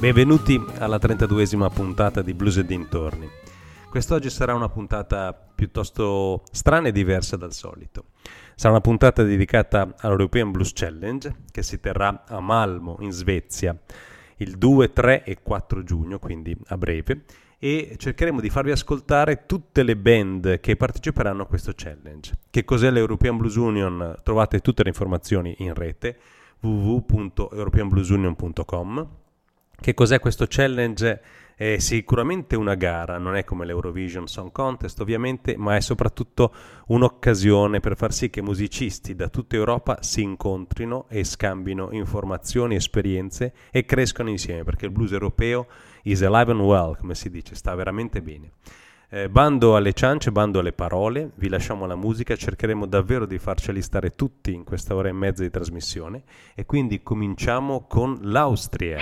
Benvenuti alla 32esima puntata di Blues e dintorni. Quest'oggi sarà una puntata piuttosto strana e diversa dal solito. Sarà una puntata dedicata all'European Blues Challenge che si terrà a Malmo in Svezia il 2, 3 e 4 giugno, quindi a breve, e cercheremo di farvi ascoltare tutte le band che parteciperanno a questo challenge. Che cos'è l'European Blues Union? Trovate tutte le informazioni in rete www.europeanbluesunion.com. Che cos'è questo challenge? È sicuramente una gara, non è come l'Eurovision Song Contest ovviamente, ma è soprattutto un'occasione per far sì che musicisti da tutta Europa si incontrino e scambino informazioni, esperienze e crescano insieme, perché il blues europeo is alive and well, come si dice, sta veramente bene. Bando alle ciance, bando alle parole, vi lasciamo la musica, cercheremo davvero di farceli stare tutti in questa ora e mezza di trasmissione e quindi cominciamo con l'Austria.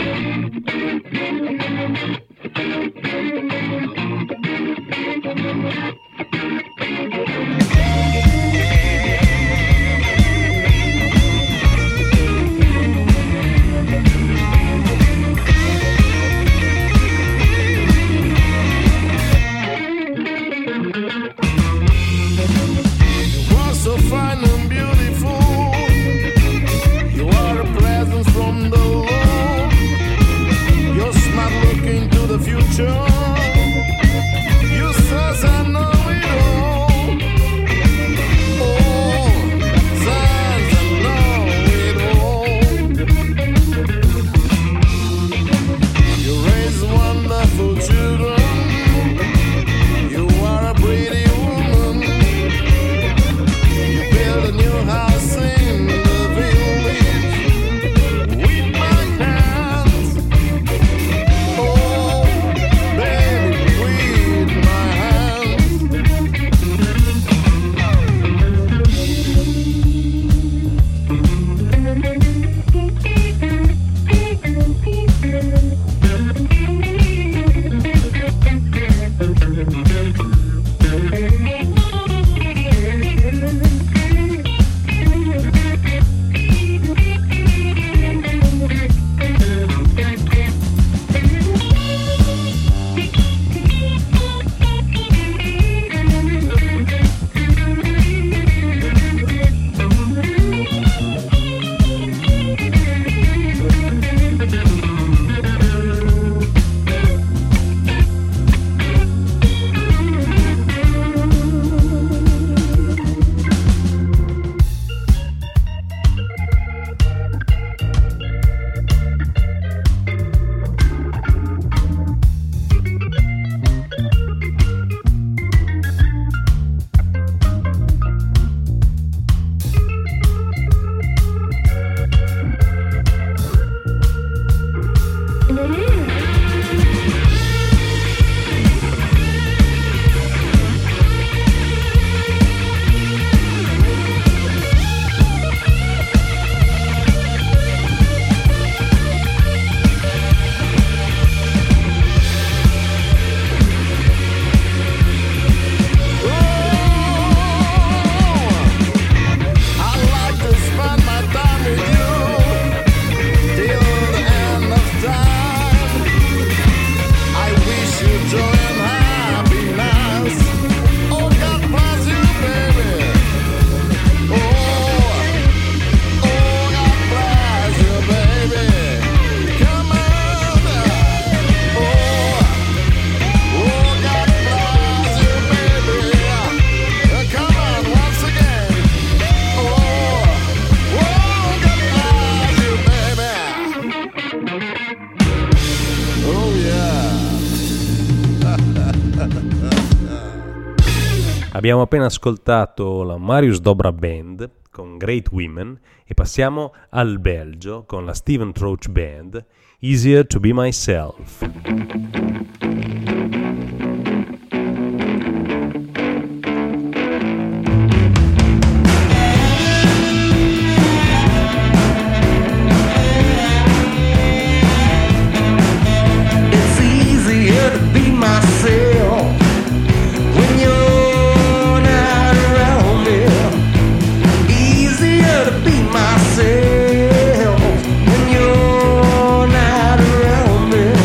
So fine and beautiful, you are a presence from the Lord. You're smart looking to the future. You says I know it all. Oh, says I know it all. You raise wonderful children. You are a pretty woman. A new house in the village with my hands. Oh, baby, with my hands. Abbiamo appena ascoltato la Marius Dobra Band con Great Women e passiamo al Belgio con la Steven Troach Band, Easier to Be Myself. It's easier to be myself when you're not around me. Easier to be myself when you're not around me.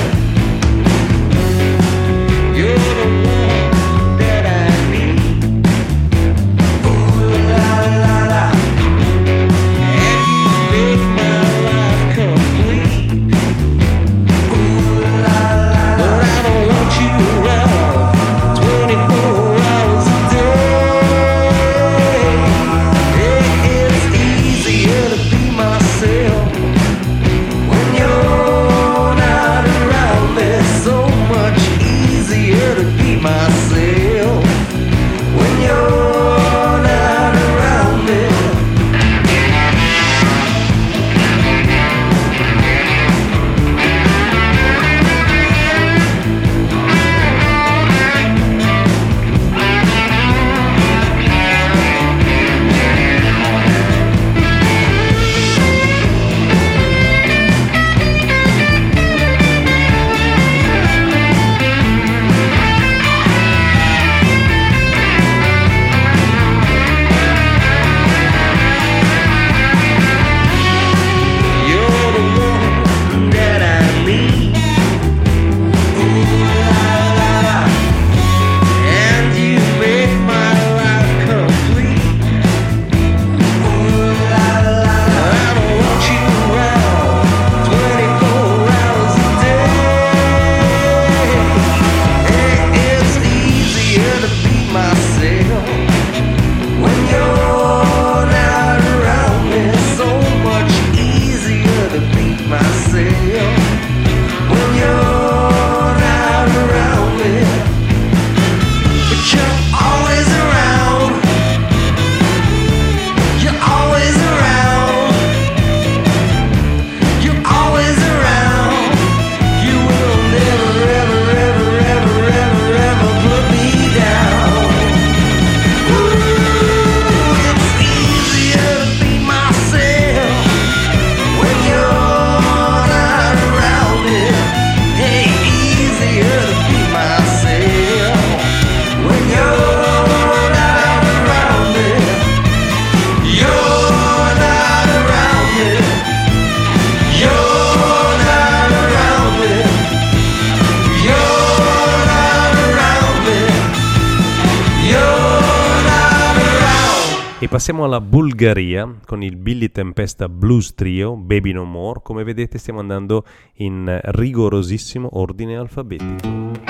passiamo alla Bulgaria con il Billy Tempesta Blues Trio, Baby No More. Come vedete stiamo andando in rigorosissimo ordine alfabetico.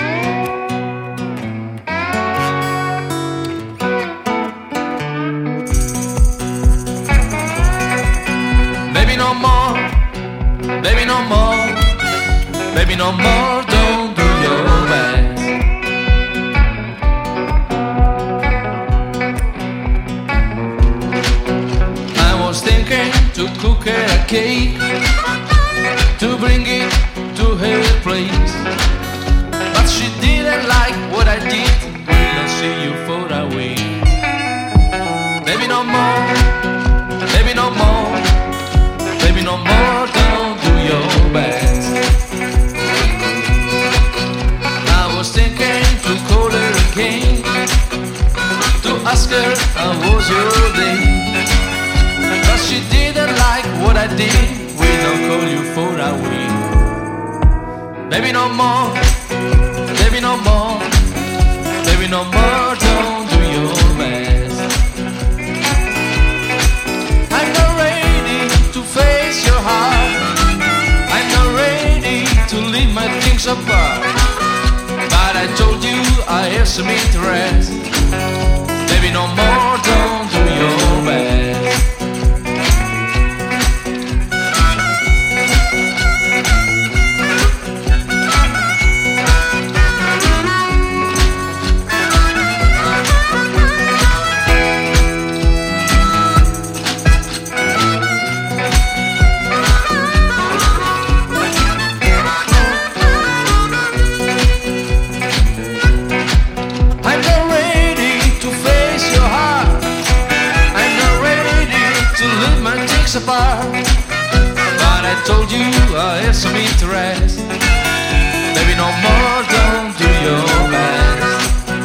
Baby no more, baby no more, baby no more, don't do your best. I was thinking to cook her a cake, to bring it to her place, but she didn't like what I did, will not see you far away. Baby no more, baby no more, baby no more, don't do your best. I was thinking to call her again, to ask her how was your day, but she didn't like what I did, will not call you for a week. Baby no more, baby no more, baby no more, don't do your best. I'm not ready to face your heart, I'm not ready to leave my things apart, but I told you I have some interest. Baby no more, don't do your best. Apart, but I told you I have some interest. Baby no more, don't do your best.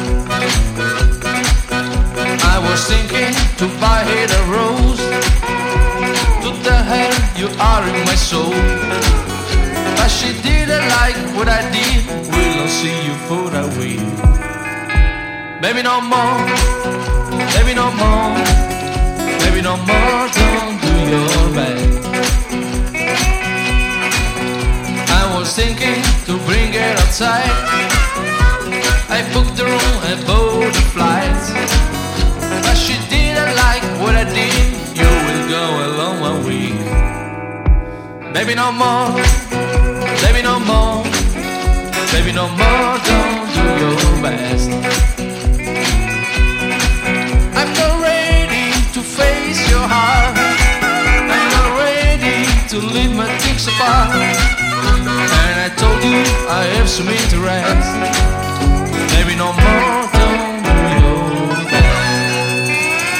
I was thinking to buy her a rose, to tell her you are in my soul, but she didn't like what I did, will not see you for a week. Baby no more, baby no more, baby no more, don't do your best. I was thinking to bring her outside, I booked the room and bought the flights, but she didn't like what I did, you will go alone 1 week. Baby no more, baby no more, baby no more, don't do your best. I'm not ready to face your heart, I'm not ready to leave my things apart, and I told you I have some interest. Baby no more, don't do your best.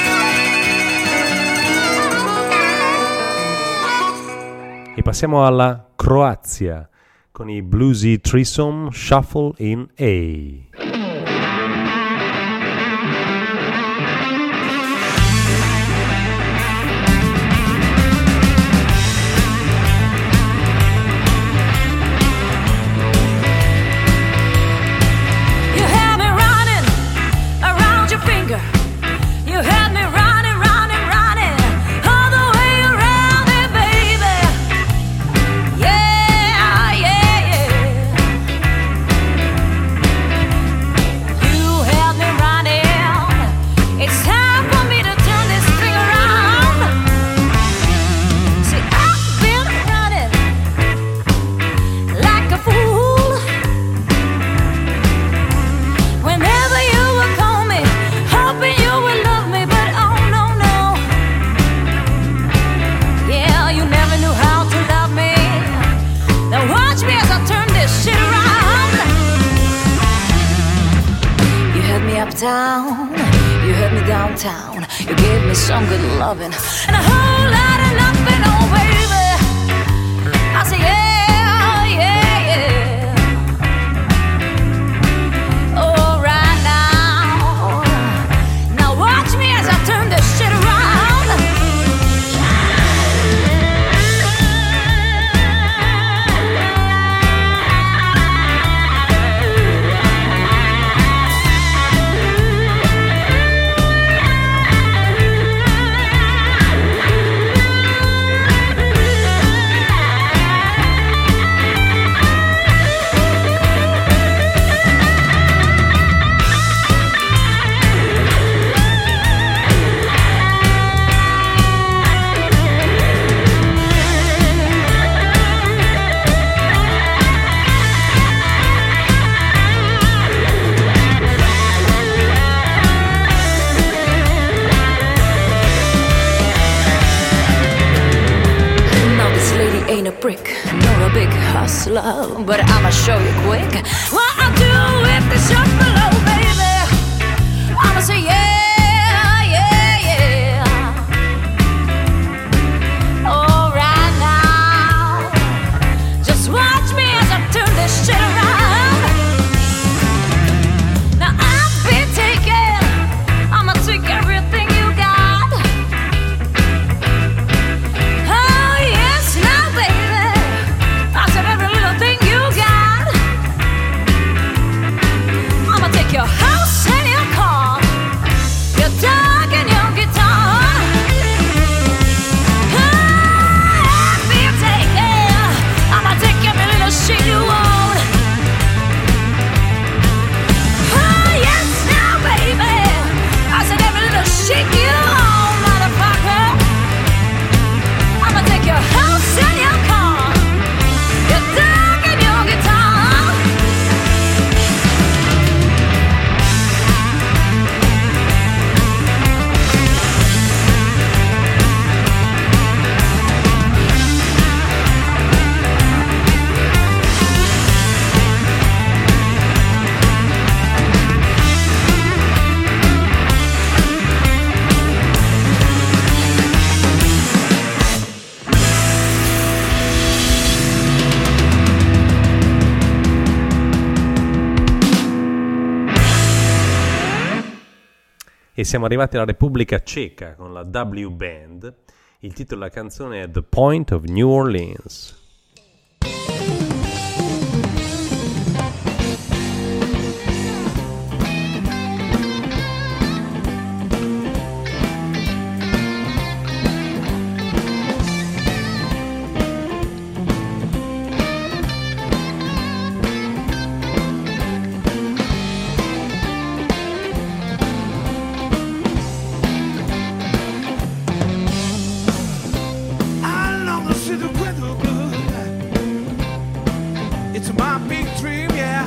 E passiamo alla Croazia con i Bluesy Threesome Shuffle in A. Uptown, you held me downtown, you gave me some good loving and a whole lot of nothing, oh baby. I say yeah, yeah, yeah. Oh, right now, now watch me as I turn this shit around. love, but I'ma show you quick what I'll do if the shot below, baby. I'ma say yeah, yeah, yeah. All right now, just watch me as I turn this shit around. Now I've been taken, I'ma take everything you got. Oh yes, now baby, I said every little thing you got. I'ma take your house and your car, your dog and your guitar. I've been taken, I'ma take every little shit you own. Oh yes, now baby, I said every little shit you own, motherfucker. I'ma take your house and your car, your dog and your guitar. E siamo arrivati alla Repubblica Ceca con la W Band. Il titolo della canzone è The Point of New Orleans. I long to see the weather good. It's my big dream, yeah.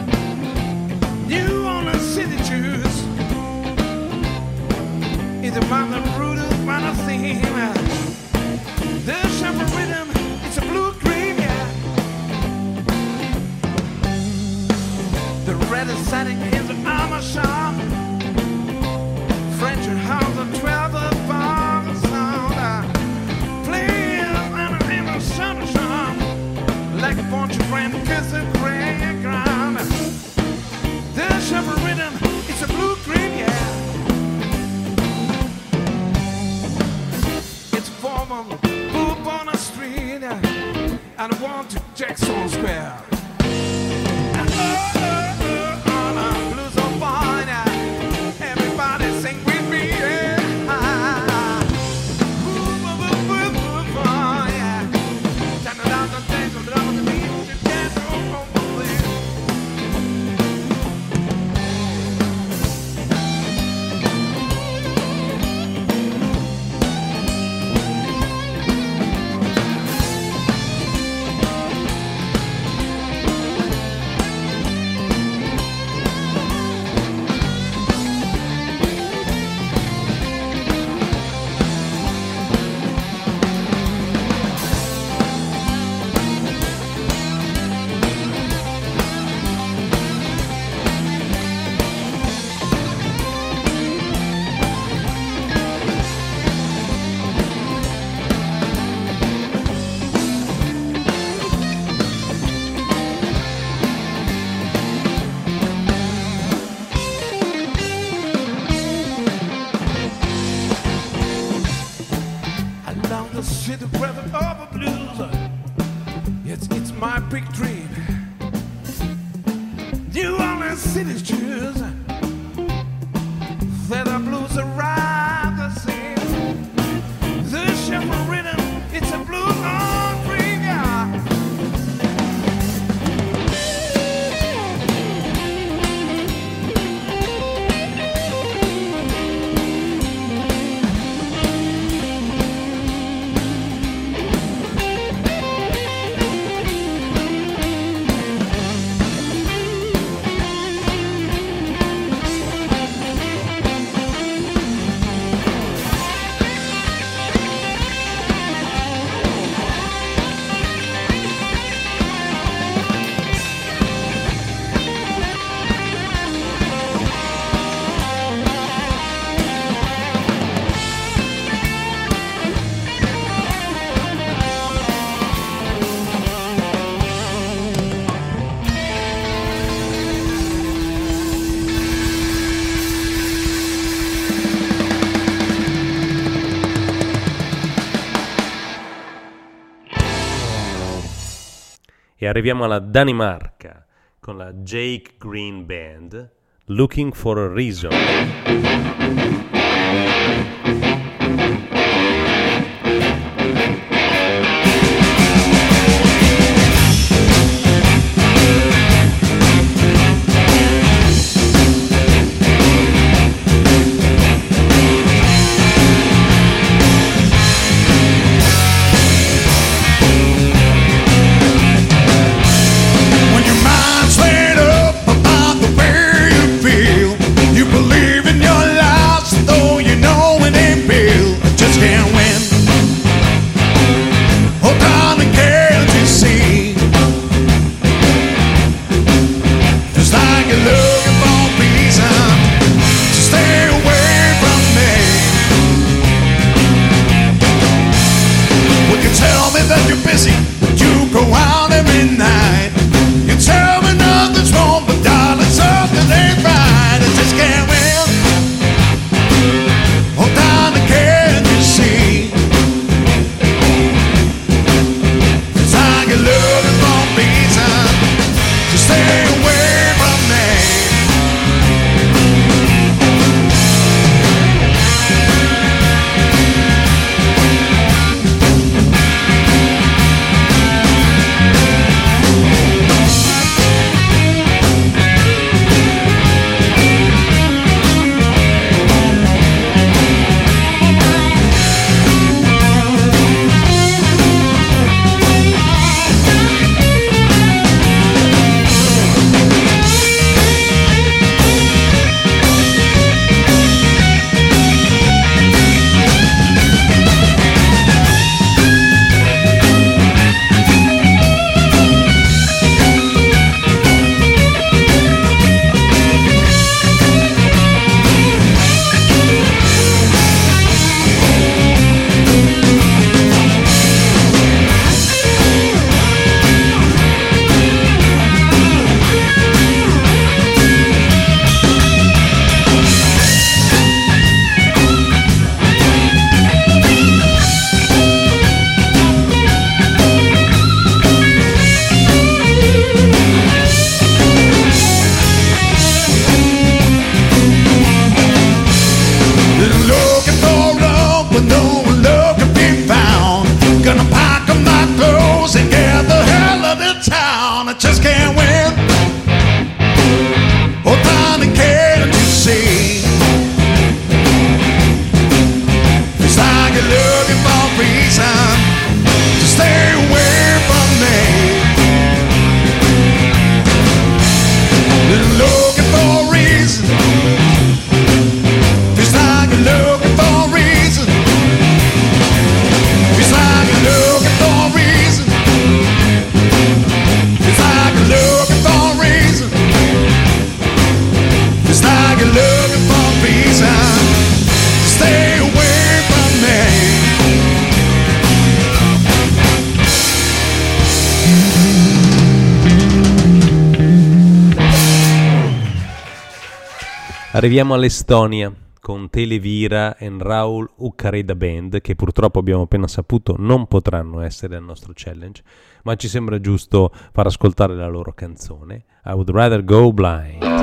New Orleans City Jews. It's a mountain root of minor theme. The sharper rhythm, it's a blue dream, yeah. The red is setting in the armor shop. French and house and 12 of bombs sound. Playing in the sunshine like a bunch of friends kissing gray ground. The sharper rhythm, it's a blue cream, yeah. It's a form of poop on the street, and I want to Jackson Square. On a blues of fine, everybody sing with me, yeah. e arriviamo alla Danimarca con la Jake Green Band, Looking for a Reason. Arriviamo all'Estonia con Televira e Raul Ukkareda Band, che purtroppo abbiamo appena saputo non potranno essere al nostro challenge, ma ci sembra giusto far ascoltare la loro canzone I Would Rather Go Blind.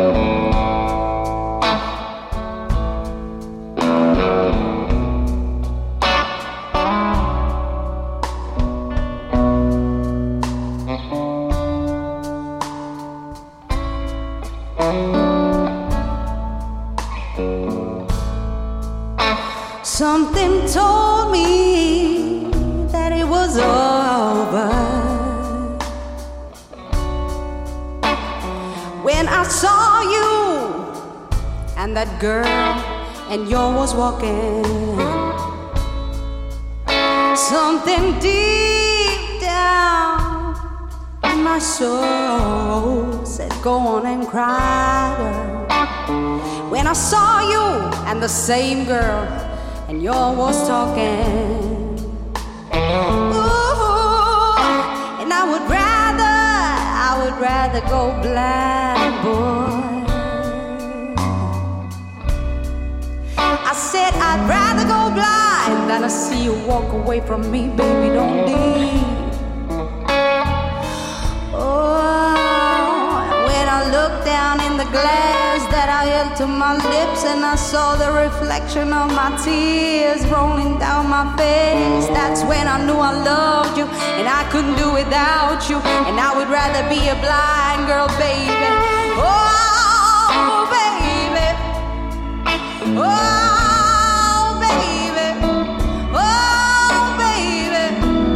Something told me that it was over when I saw you and that girl and you was walking. Something deep down in my soul said go on and cry, girl. When I saw you and the same girl and you was talking. Ooh, and I would rather go blind, boy. I said I'd rather go blind than to see you walk away from me, baby, don't leave. from the glass that I held to my lips, and I saw the reflection of my tears rolling down my face. That's when I knew I loved you, and I couldn't do without you, and I would rather be a blind girl, baby. Oh, baby. Oh, baby. Oh, baby.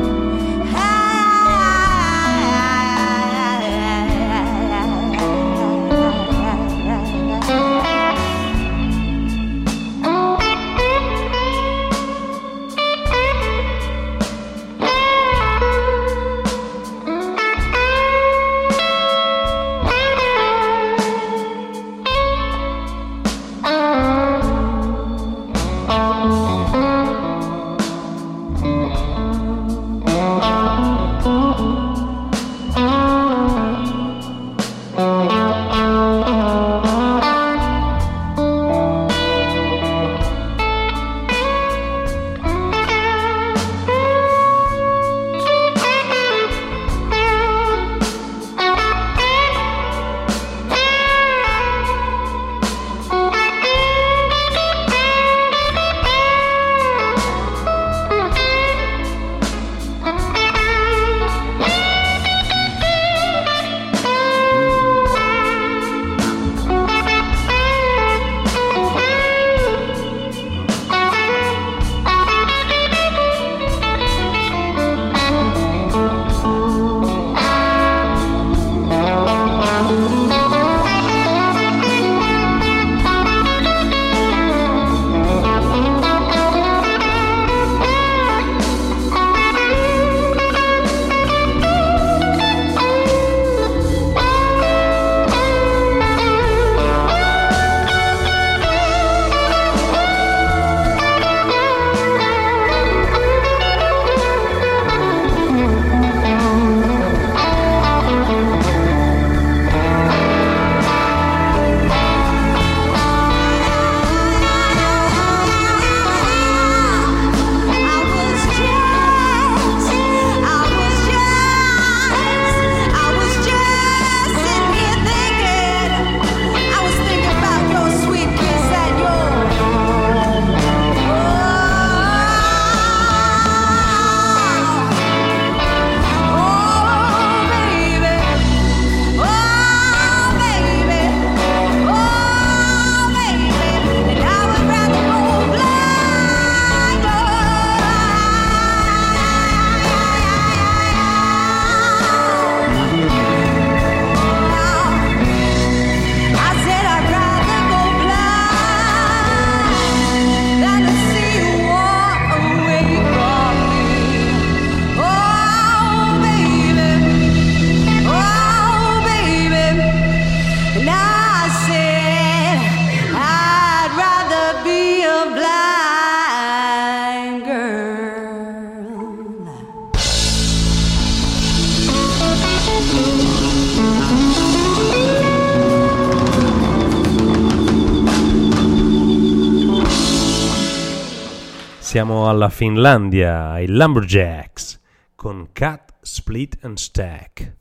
Siamo alla Finlandia, ai Lumberjacks, con Cut, Split and Stack.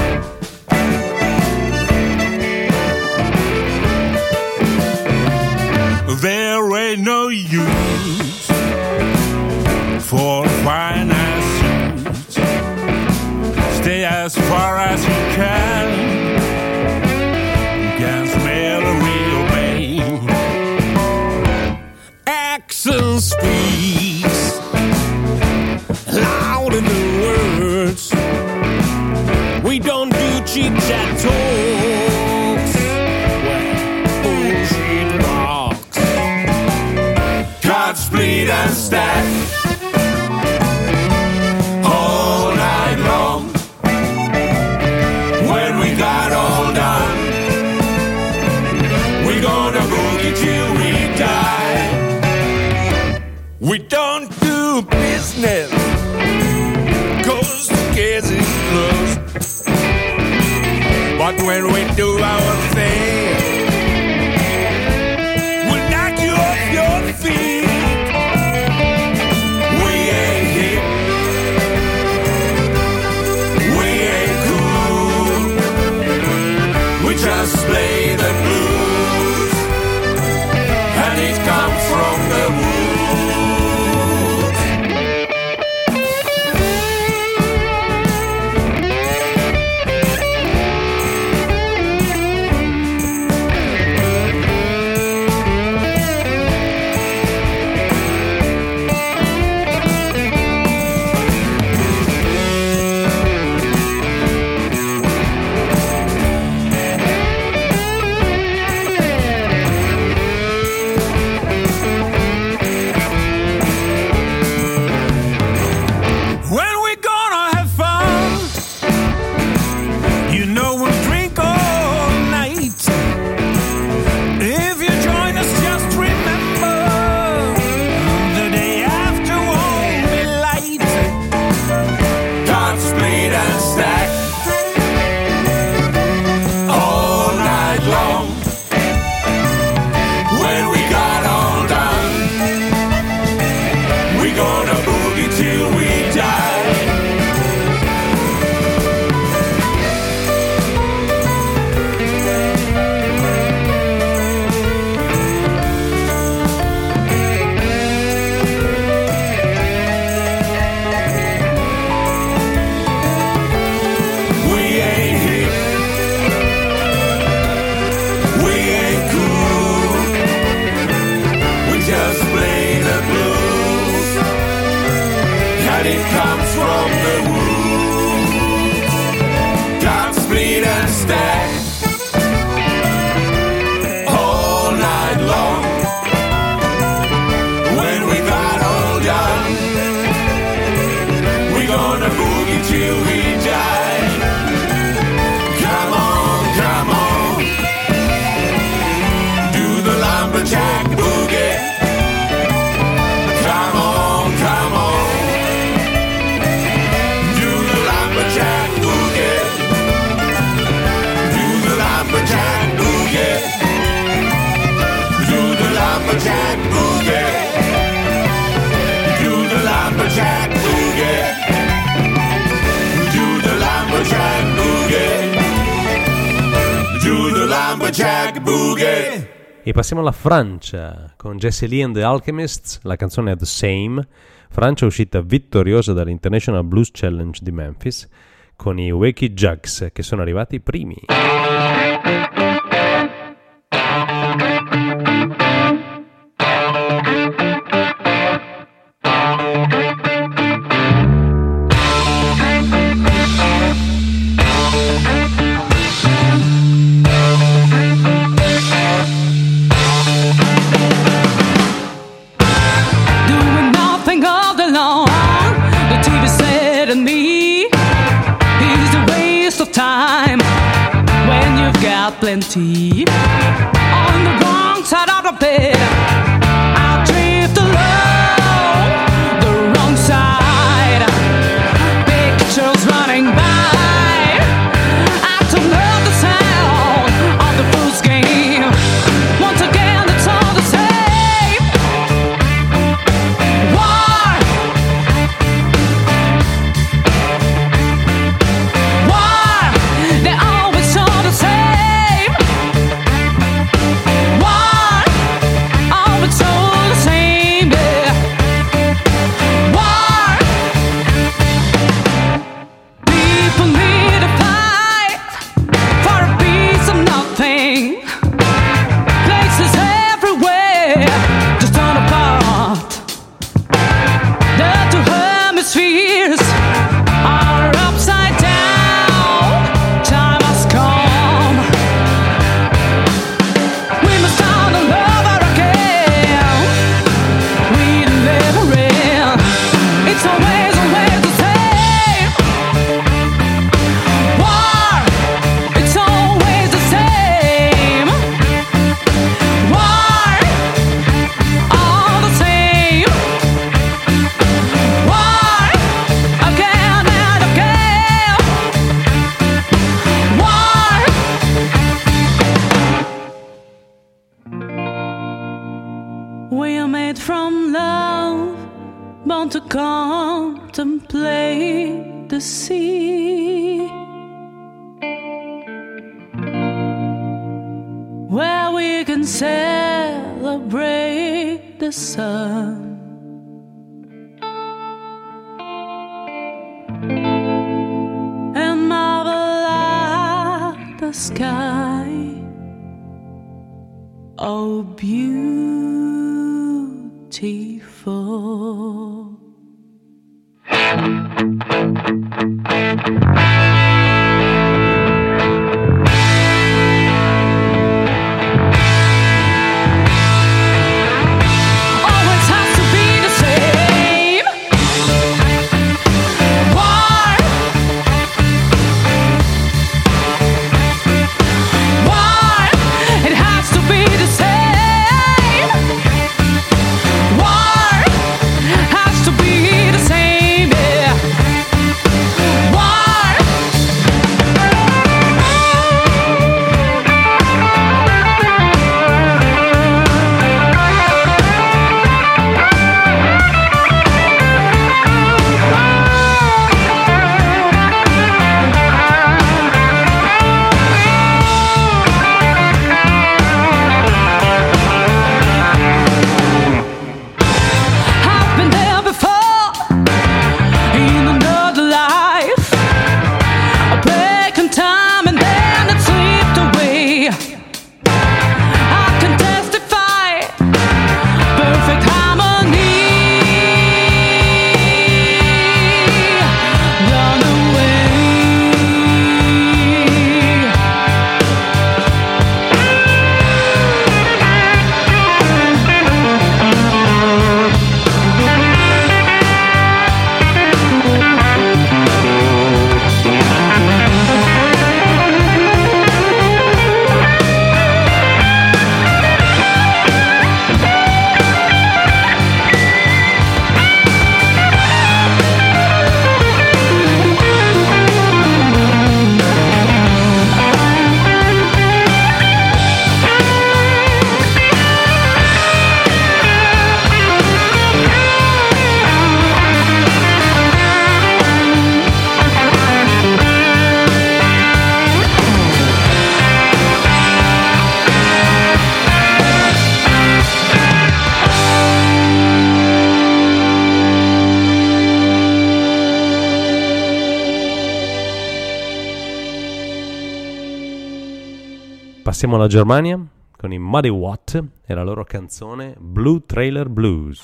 There ain't no use for fine suits. Stay as far as you can. You can smell a real pain. Action speaks loud in the words. We don't do chit-chat talks. Bullshit walks. Cut, split and stack all night long. When we got all done, we're gonna boogie till we die. We don't do business 'cause the case is closed. But when we do our thing, we'll knock you off your feet. We ain't hip, we ain't cool. We just play the lumberjack boogie. E passiamo alla Francia con Jesse Lee and the Alchemists, la canzone è The Same. Francia uscita vittoriosa dall'International Blues Challenge di Memphis con i Wakey Jugs che sono arrivati primi. Plenty on the wrong side of the bed. I drift along the wrong side. Pictures running by. I don't love the sound of the fool's game. Once again, it's all the same. Why? Why? They're always all the same. To contemplate the sea, where we can celebrate the sun and marvel at the sky. Oh, beautiful. Has to Passiamo alla Germania con i Muddy Watt e la loro canzone Blue Trailer Blues.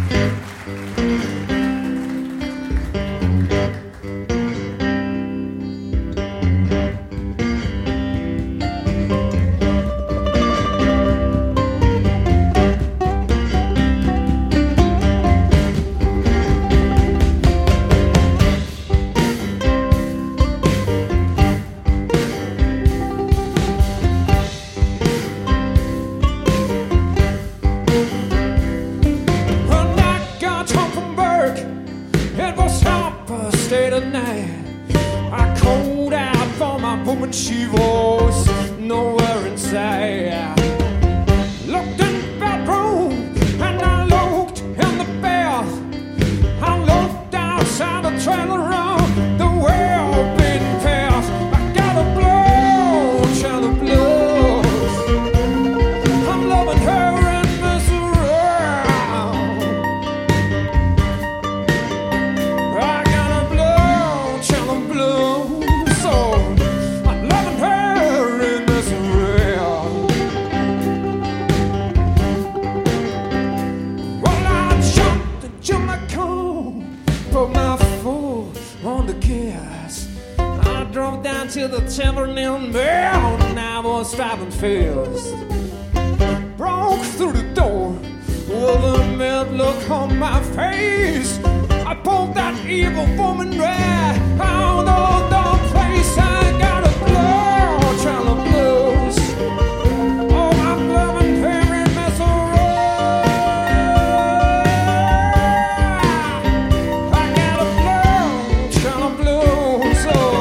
She was nowhere inside. Looked in the bedroom and I looked in the bed. I looked outside the trailer room, the world being fast. I got a blow, child of blues. I'm loving her and mess around. I got a blow, child of blues. So to the tavern in Bell, and I was driving fast. Broke through the door with a mad look on my face. I pulled that evil woman right out of the place. I got a blow, child of blues. Oh, I'm loving her and mess around. I got a blow, child of blues. Oh.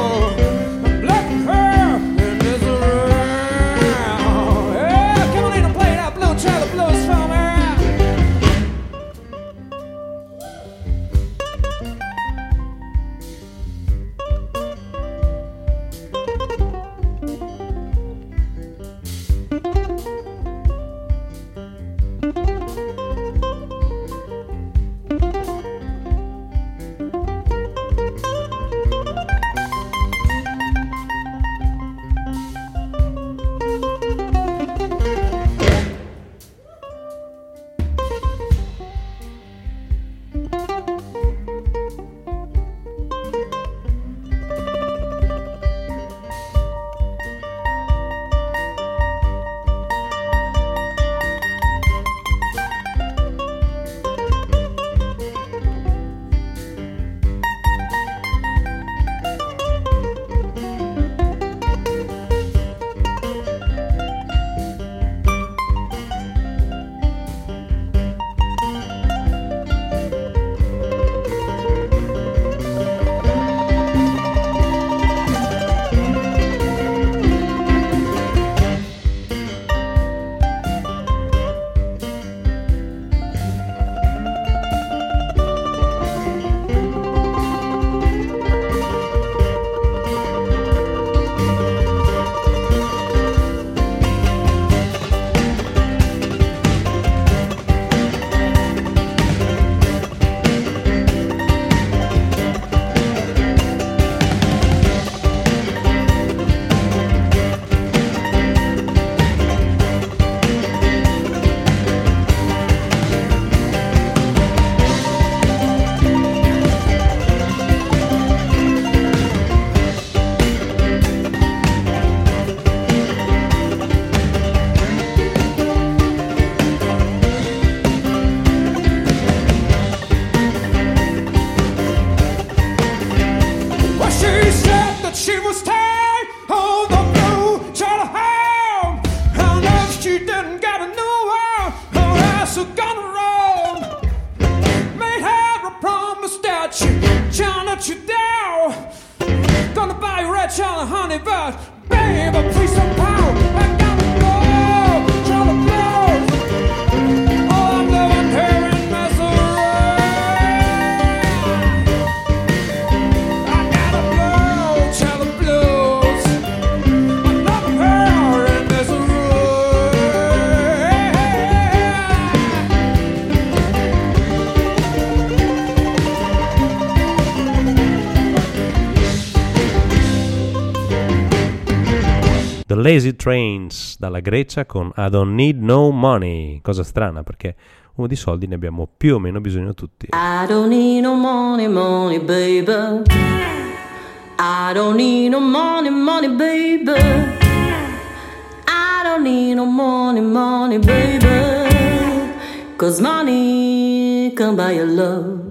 The Lazy Trains dalla Grecia con I Don't Need No Money, cosa strana perché uno di soldi ne abbiamo più o meno bisogno tutti. I don't need no money, money, baby. I don't need no money, money, baby. I don't need no money, money, baby. 'Cause money can buy your love.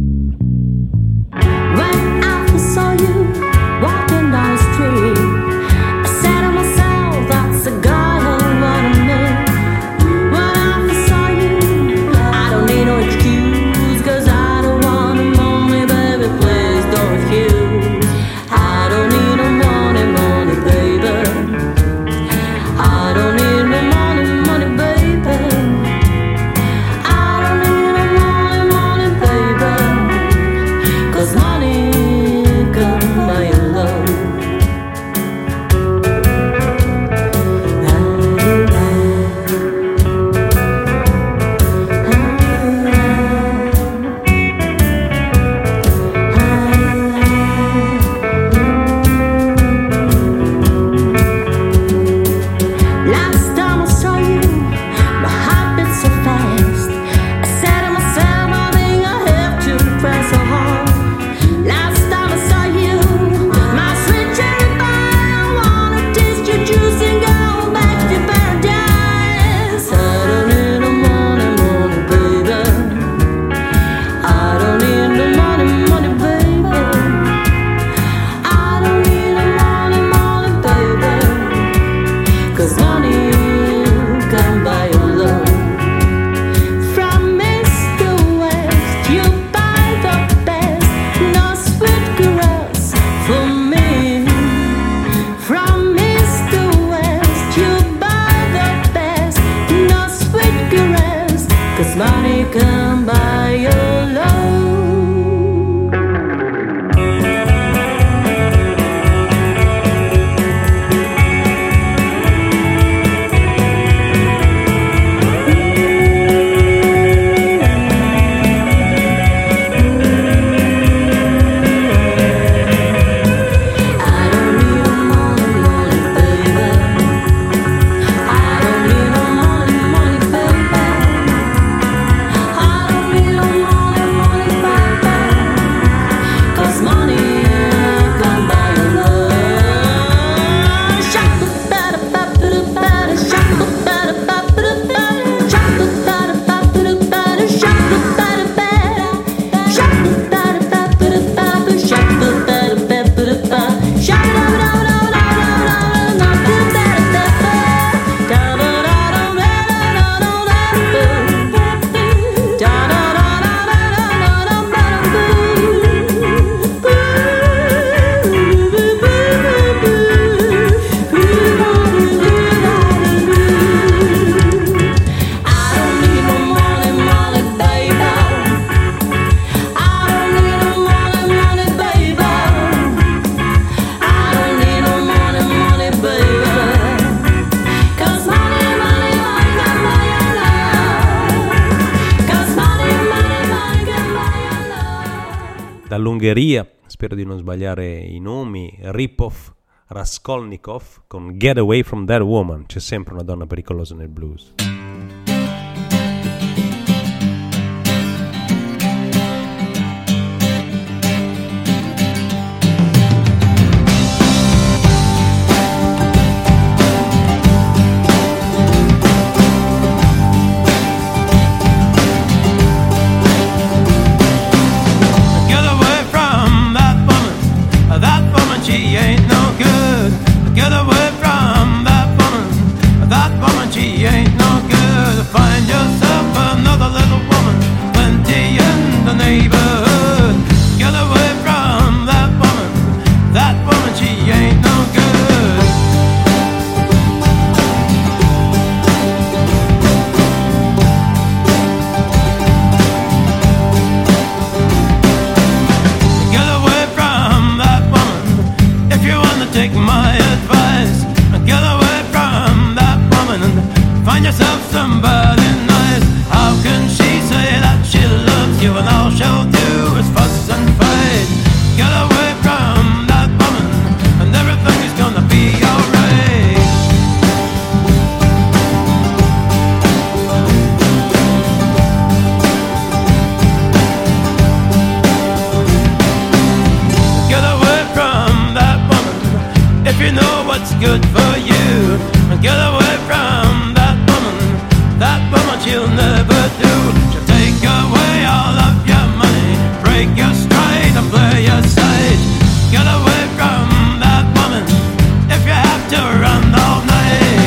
When I first saw you walking down the street, I said to myself, that's the guy who wanna meet. When I first saw you, I don't need no excuse, 'cause I don't want no money, baby, please don't refuse. I don't need no money, money, baby. I don't need no money, money, baby. I don't need no money, money, baby. 'Cause money can buy your love. Last time I saw you, my heart beat so fast. I said to myself, I think I have to try so hard. Last time I saw you, my sweet cherry pie, I wanna taste your juice and go back to paradise. I don't need no money, money, baby. I don't need no money, money, baby. I don't need no money, money, baby. 'Cause money can buy your love. From east to west, you buy the best. No sweet caress for me. From east to west, you buy the best. No sweet caress, 'cause money can buy your love. I don't need no money, money, baby. I don't need no money, money, baby. I don't need no money, money, baby. 'Cause money can buy your love. Shaka-ba-da-ba-ba-da-ba-da, shaka-ba-da-ba-ba-da-ba-da, shaka-ba-da-ba-ba-da-ba-da, shaka-ba-da-ba-da, shaka-ba-da-ba-ba-da-ba-da, shaka-ba-da-ba-ba-da-ba, I don't need no money, money, baby. I don't need no money, money, baby. I don't need no money, money, baby. 'Cause money, money, money can buy your love. 'Cause money, money, money can buy your love. Dall'Ungheria, spero di non sbagliare i nomi, Ripov Raskolnikov con Get Away From That Woman. C'è sempre una donna pericolosa nel blues. Get away from that woman, she ain't no good. Get away from that woman, she ain't no good. good for you. Get away from that woman she'll never do. She'll take away all of your money, break your stride and play your side. Get away from that woman if you have to run all night.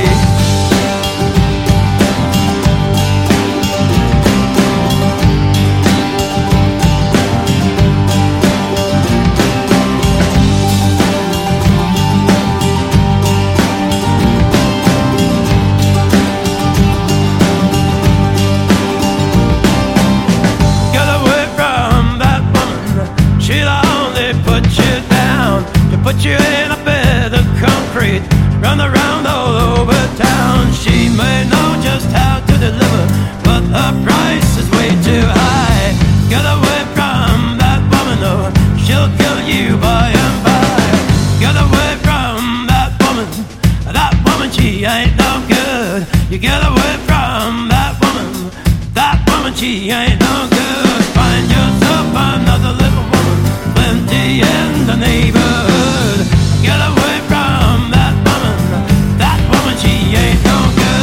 Put you in a bed of concrete, run around all over town. She may know just how to deliver, but her price is way too high. Get away from that woman, or she'll kill you by and by. Get away from that woman, she ain't no good. You get away from that woman, she ain't no good. Find yourself another little woman, plenty in the neighborhood. Get away from that woman, she ain't no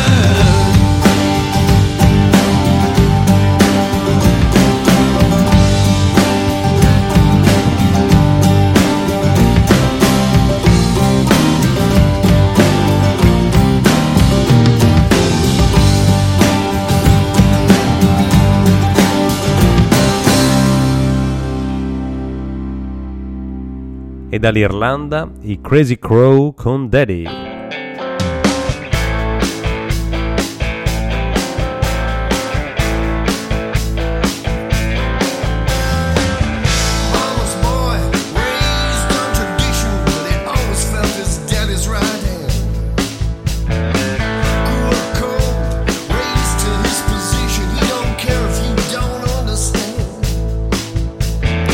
E dall'Irlanda i Crazy Crow con Daddy.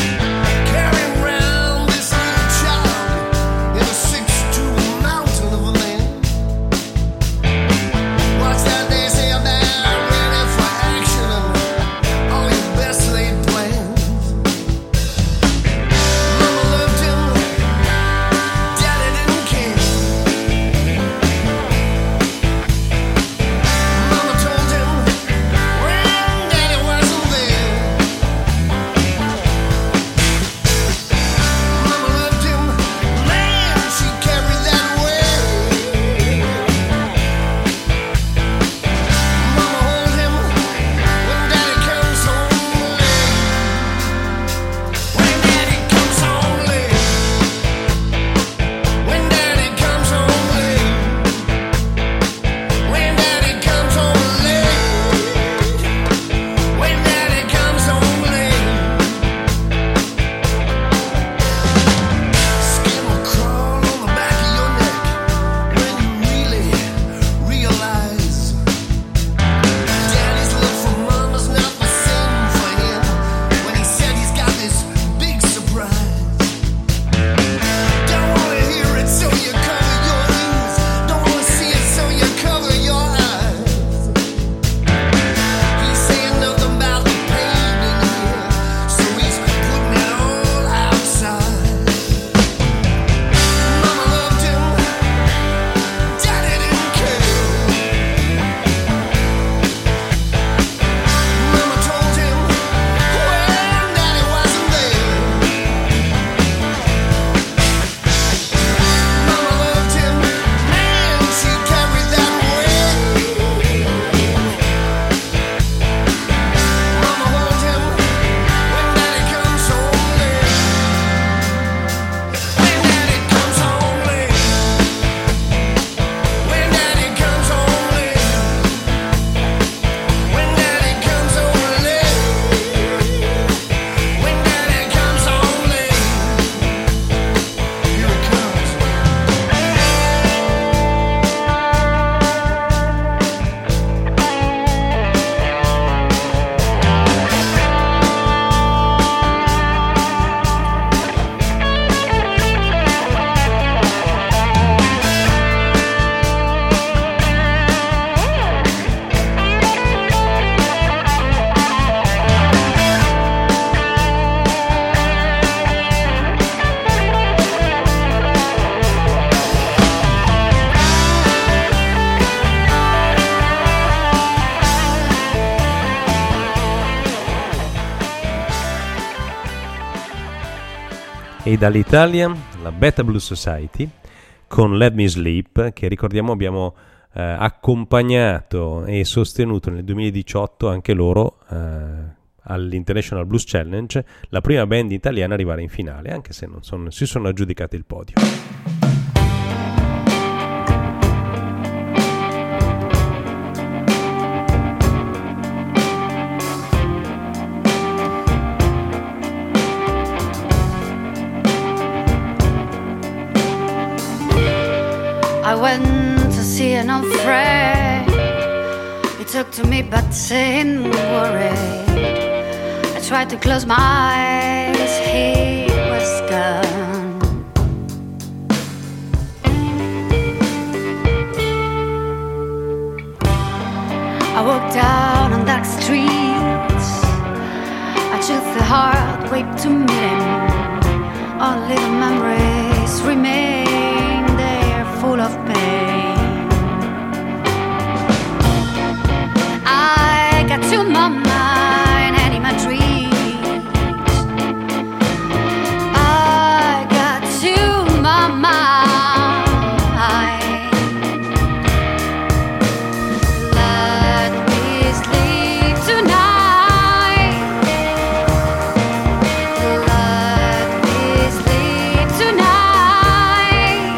Carrying around this little child in a 6'2" mountain of E dall'Italia la Beta Blues Society con Let Me Sleep, che ricordiamo abbiamo accompagnato e sostenuto nel 2018 anche loro all'International Blues Challenge, la prima band italiana ad arrivare in finale, anche se non si sono aggiudicati il podio. I went to see an old friend. He took to me but seemed worried. I tried to close my eyes, he was gone. I walked down on dark streets. I took the hard way to meet him. Only the memories remain there, full of pain. I got to my mind and in my dreams. I got to my mind. Let me sleep tonight. Let me sleep tonight.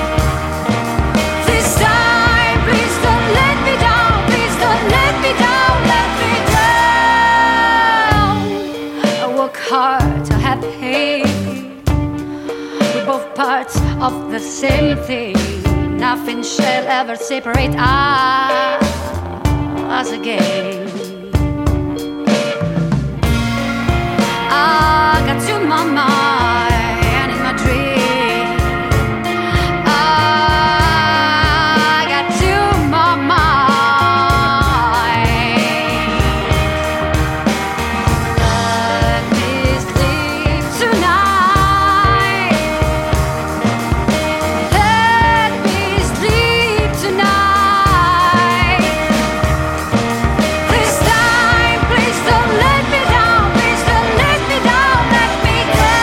This time, please don't let me down. Please don't let me down. Let me down. I work hard to have pain. We're both parts of the same thing. Nothing shall ever separate us again. I got to my mind and in my dream. I got to my mind. Let me sleep tonight. Let me sleep tonight. This time, please don't let me down. Please don't let me down. Let me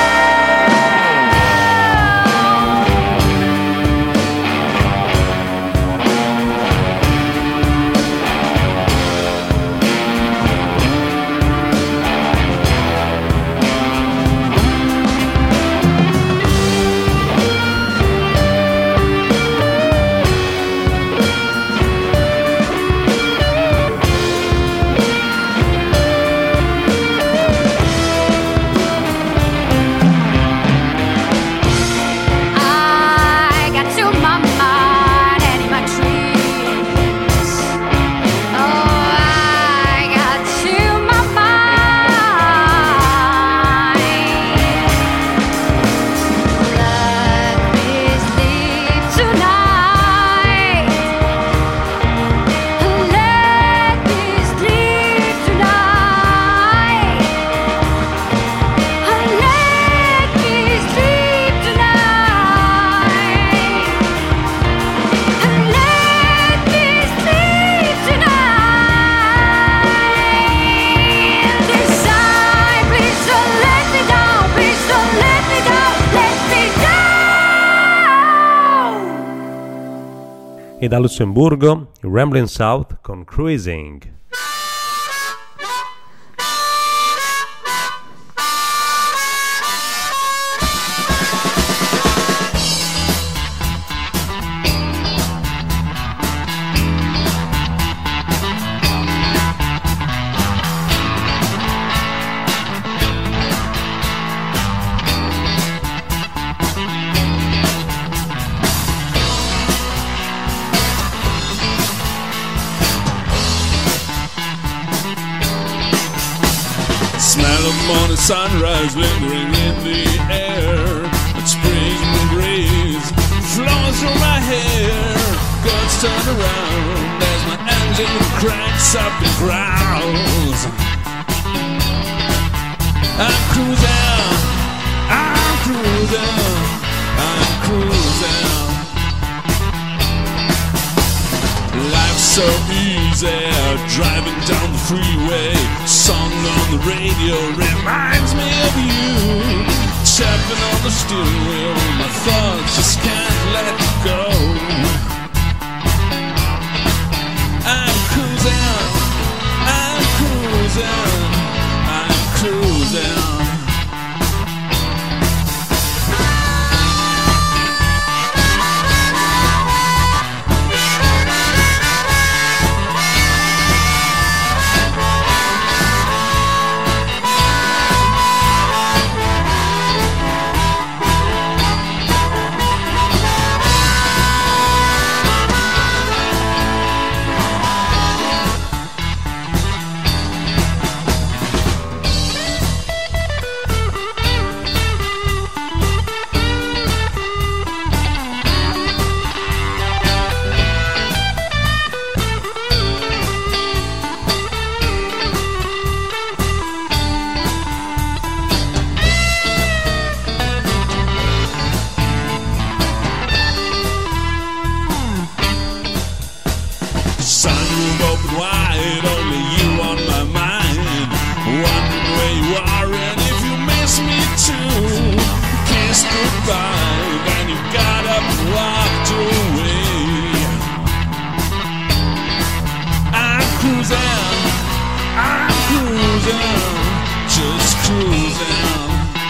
I got to my mind and in my dreams. Oh, I got to my mind. Let me sleep tonight. Let me sleep tonight. Let me sleep tonight. Let me sleep tonight. This time, please don't let me down. Please don't let me down. Let me down. E da Lussemburgo, Ramblin' South con Cruising. Smell of morning sunrise lingering in the air. A spring breeze flows through my hair. Guns turn around as my engine cranks up and growls. I'm cruising, I'm cruising, I'm cruising. Life's so easy, driving down the freeway. Song on the radio reminds me of you. tapping on the steering wheel. My thoughts just can't let go. I'm cruising, I'm cruising, I'm cruising. Sunroof open wide, only you on my mind. Wondering where you are and if you miss me too. Kissed goodbye, then you got up and walked away. I'm cruising, just cruising.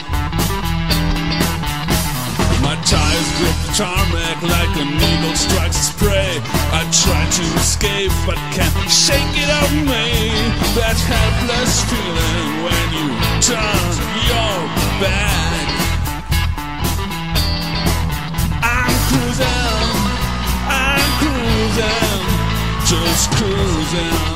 My tires grip the tarmac like an eagle strikes its prey. I try to escape but can't shake it off me. That helpless feeling when you turn your back. I'm cruising, just cruising.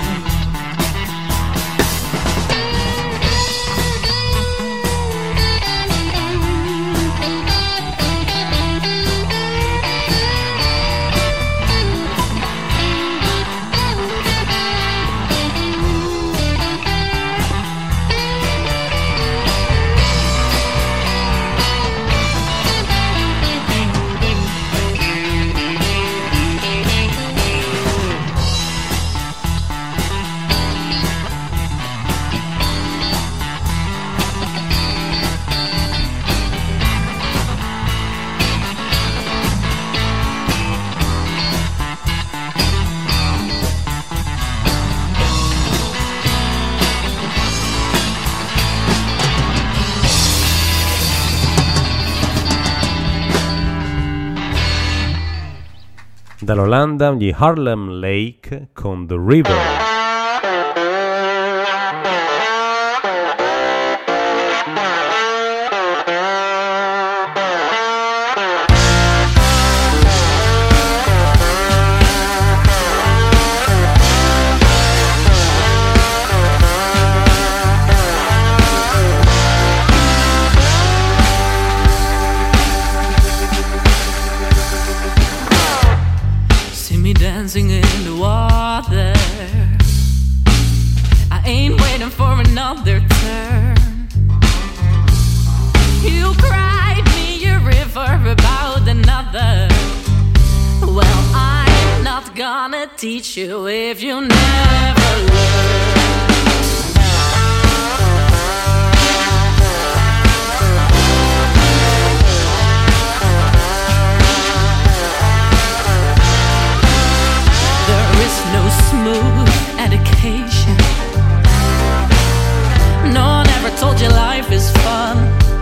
Dall'Olanda gli Harlem Lake con The River. Dancing in the water, I ain't waiting for another turn. You cried me a river about another. Well, I'm not gonna teach you if you never learn. No smooth education. No one ever told you life is fun.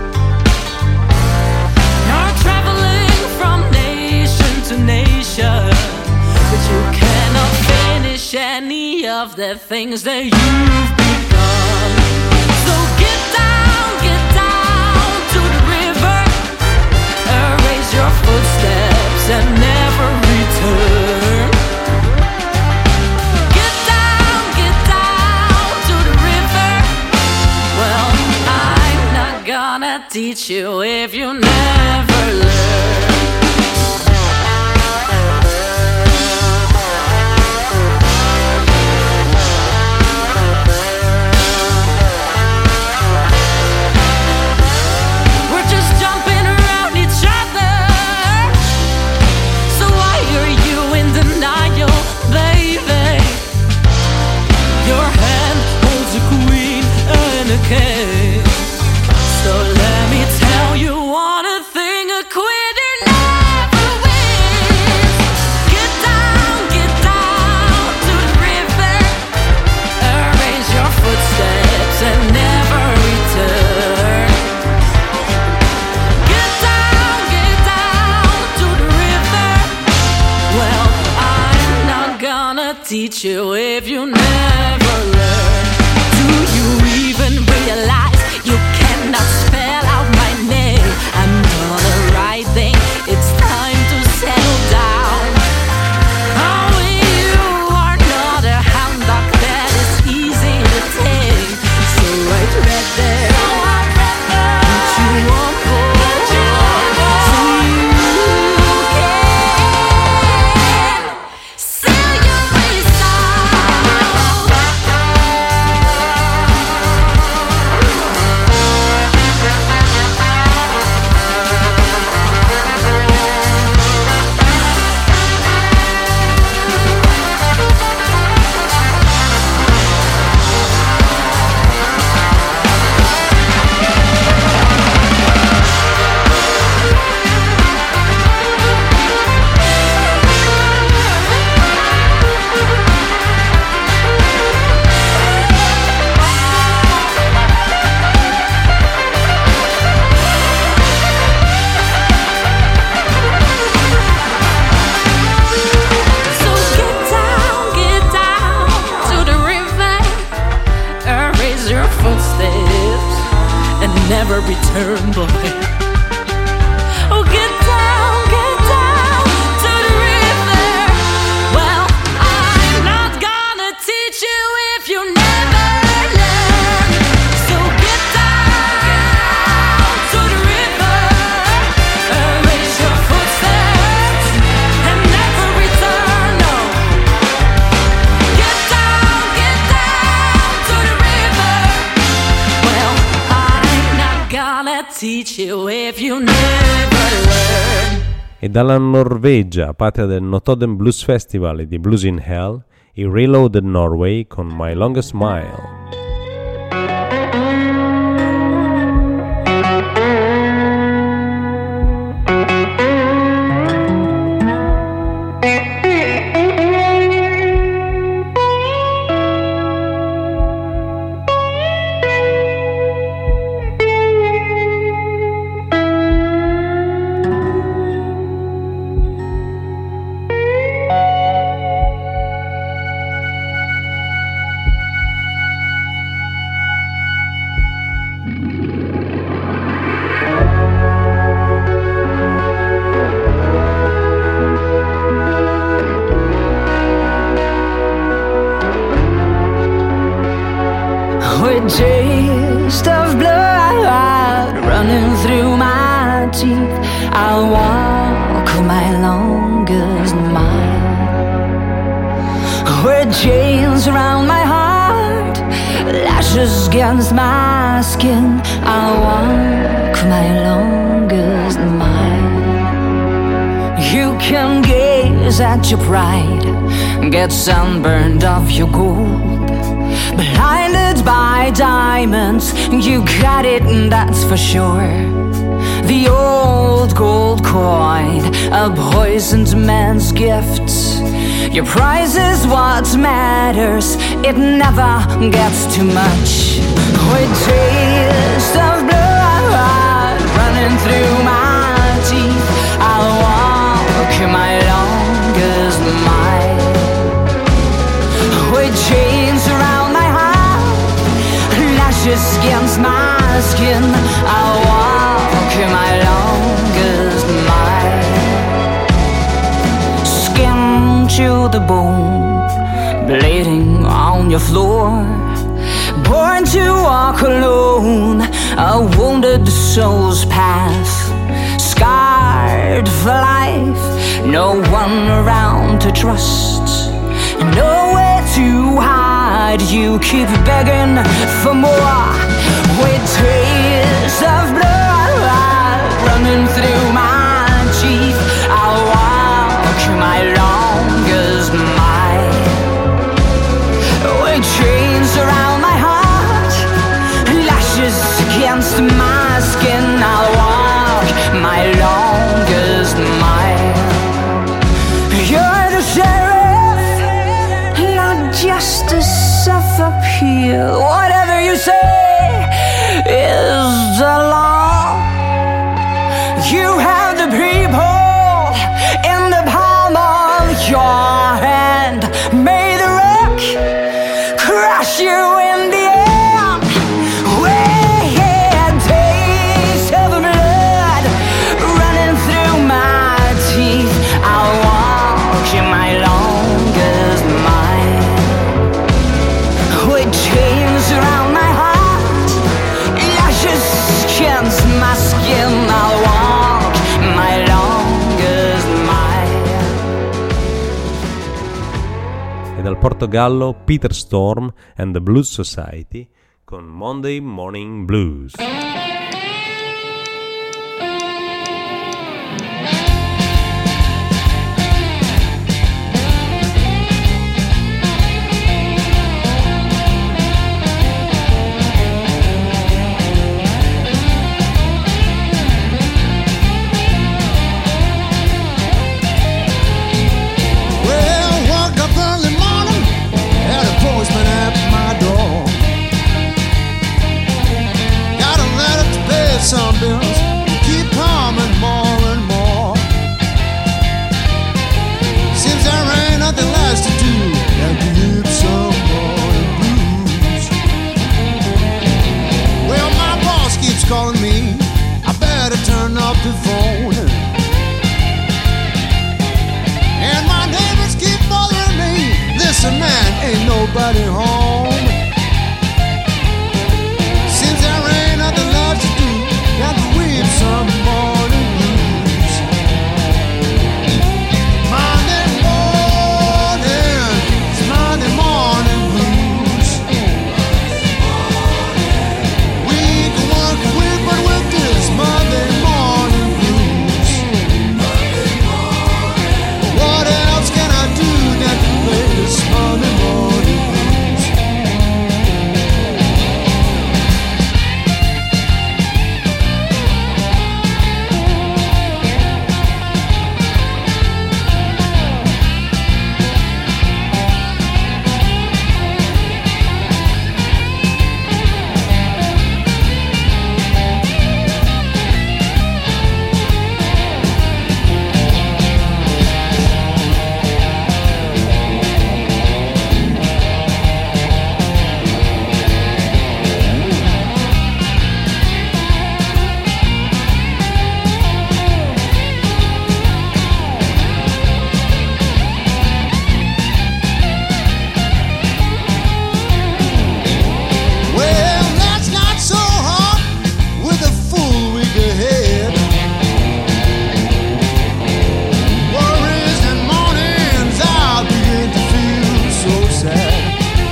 You're traveling from nation to nation, but you cannot finish any of the things that you've begun. So get down to the river, erase your footsteps and never return. Gonna teach you if you never learn. We're just jumping around each other, so why are you in denial, baby? Your hand holds a queen and a king. So let me tell you never return, boy. Oh, get down to the river. Well, I'm not gonna teach you if you never learn. So get down to the river, erase your footsteps and never return. No. Get down to the river. Well, I'm not gonna teach you if you never learn. E dalla Norvegia, patria del Notodden Blues Festival e di Blues in Hell, i Reloaded Norway con My Longest Mile. With taste of blood running through my teeth, I'll walk my longest mile. With chains around my heart, lashes against my skin, I'll walk my longest mile. You can gaze at your pride, get sunburned off your gold. Blinded by diamonds, you got it, that's for sure. The old gold coin, a poisoned man's gift. Your prize is what matters, it never gets too much. With taste of blood running through my teeth, I'll walk my longest mile. With chains around my heart, lashes against my skin, I'll walk my longest mile. Skin to the bone, bleeding on your floor. Born to walk alone, a wounded soul's path. Scarred for life, no one around to trust. Nowhere to hide, you keep begging for more. With tears of blood running through my teeth, I'll walk my longest mile. With chains around my heart, lashes against my skin, I'll walk my longest mile. You're the sheriff, not justice of appeal. Whatever you say is the law. You have the people in the palm of your hand. May the rock crush you in the end. With taste of blood running through my teeth, I'll walk my longest mile. With chains around my heart, lashes against my skin, I'll walk my longest mile. E dal Portogallo, Peter Storm and the Blues Society con Monday Morning Blues. Well, woke up early morning, had a postman at my door. Got a letter somebody home. Since there ain't nothing left to do, got to weep some morning blues. Monday morning, it's Monday morning blues. We can walk away, but with this Monday morning blues. What else can I do than to play this Monday morning blues? Well, that's not so hard with a full week ahead. Worries and mornings I begin to feel so sad.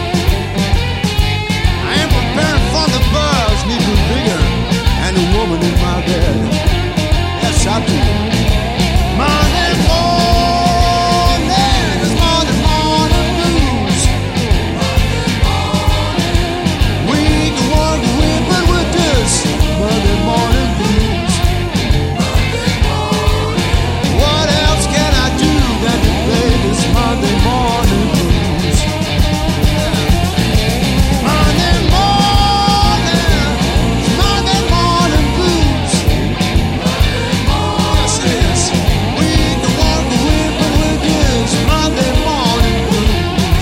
I am preparing for the buzz, need to be bigger, and a woman in my bed. Yes, I do. Monday morning is Monday morning blues. We can walk away, but with this Monday morning blues. What else can I do than to play this Monday morning blues? Monday morning, it's Monday morning blues. Yes, it is. We can walk away, but with this Monday morning blues.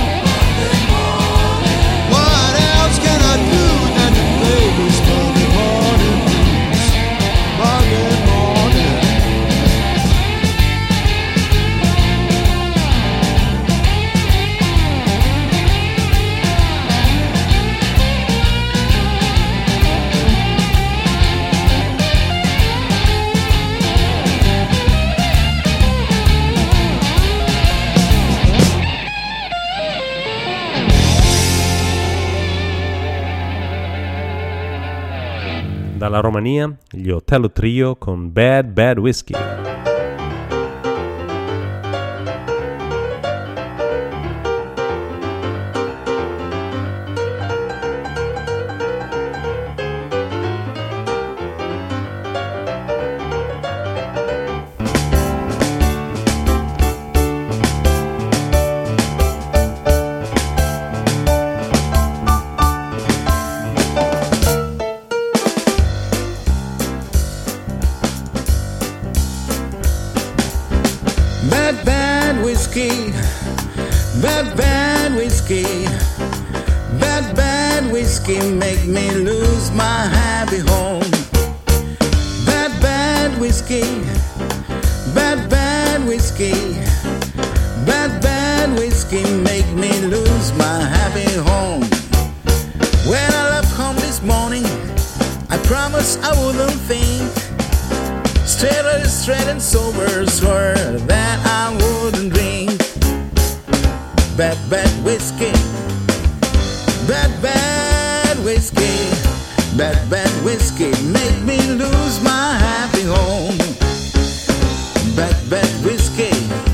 What else can I do than to play this Monday morning blues? Monday morning. Dalla Romania, gli Otello Trio con Bad Bad Whiskey. Bad, bad whiskey, bad, bad whiskey, bad, bad whiskey make me lose my happy home. Bad, bad whiskey, bad, bad whiskey, bad, bad whiskey make me lose my happy home. When I left home this morning, I promised I wouldn't faint. Straight and sober, swore that I wouldn't drink. Bad, bad whiskey, bad, bad whiskey, bad, bad whiskey make me lose my happy home. Bad, bad whiskey,